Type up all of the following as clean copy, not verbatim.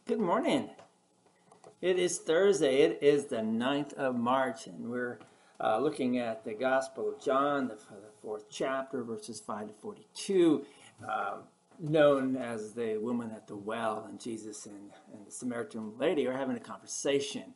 Good morning. It is Thursday. It is the 9th of March, and we're looking at the Gospel of John, the fourth chapter, verses 5 to 42, known as the woman at the well, and Jesus and the Samaritan lady are having a conversation.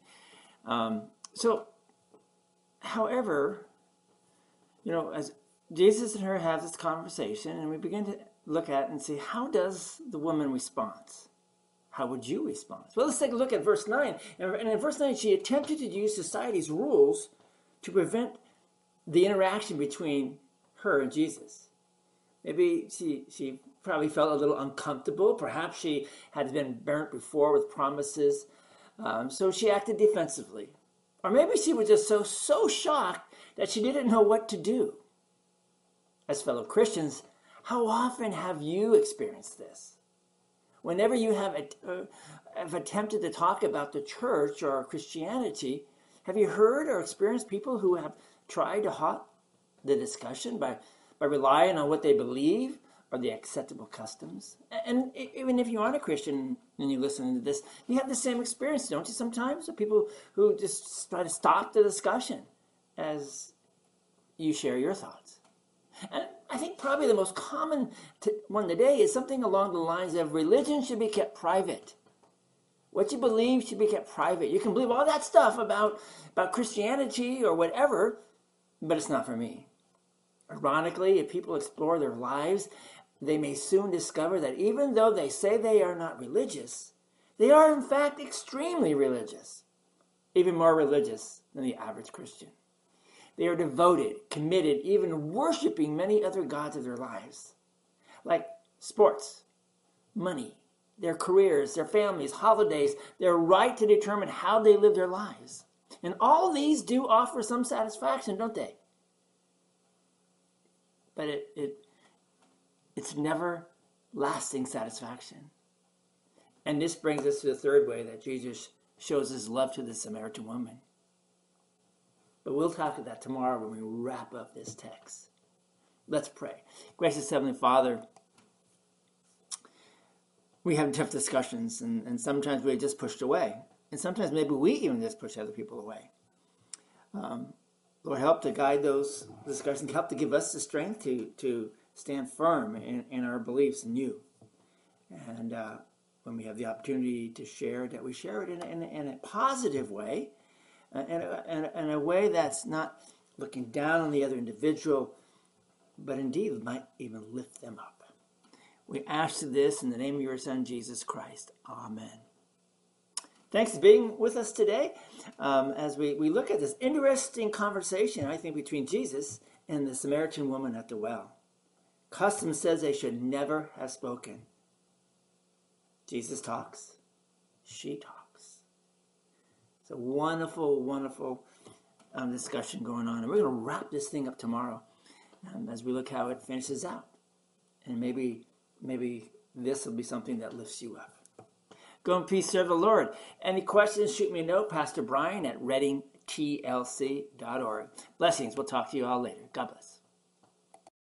However, as Jesus and her have this conversation, and we begin to look at it and see, how does the woman respond? How would you respond? Well, let's take a look at verse 9. And in verse 9, she attempted to use society's rules to prevent the interaction between her and Jesus. Maybe she probably felt a little uncomfortable. Perhaps she had been burnt before with promises. So she acted defensively. Or maybe she was just so shocked that she didn't know what to do. As fellow Christians, how often have you experienced this? Whenever you have attempted to talk about the church or Christianity, have you heard or experienced people who have tried to halt the discussion by relying on what they believe or the acceptable customs? And even if you aren't a Christian and you listen to this, you have the same experience, don't you, sometimes? Of people who just try to stop the discussion as you share your thoughts. And I think probably the most common one today is something along the lines of religion should be kept private. What you believe should be kept private. You can believe all that stuff about Christianity or whatever, but it's not for me. Ironically, if people explore their lives, they may soon discover that even though they say they are not religious, they are in fact extremely religious, even more religious than the average Christian. They are devoted, committed, even worshiping many other gods of their lives, like sports, money, their careers, their families, holidays, their right to determine how they live their lives. And all these do offer some satisfaction, don't they? But it's never lasting satisfaction. And this brings us to the third way that Jesus shows his love to the Samaritan woman. But we'll talk about that tomorrow when we wrap up this text. Let's pray. Gracious Heavenly Father, we have tough discussions, and sometimes we're just pushed away. And sometimes maybe we even just push other people away. Lord, help to guide those discussions. Help to give us the strength to stand firm in our beliefs in you. And when we have the opportunity to share it, that we share it in a positive way, in a way that's not looking down on the other individual, but indeed might even lift them up. We ask this in the name of your Son, Jesus Christ. Amen. Thanks for being with us today as we look at this interesting conversation, I think, between Jesus and the Samaritan woman at the well. Custom says they should never have spoken. Jesus talks. She talks. It's a wonderful, wonderful discussion going on. And we're going to wrap this thing up tomorrow as we look how it finishes out. And maybe this will be something that lifts you up. Go in peace, serve the Lord. Any questions, shoot me a note, Pastor Brian at readingtlc.org. Blessings. We'll talk to you all later. God bless.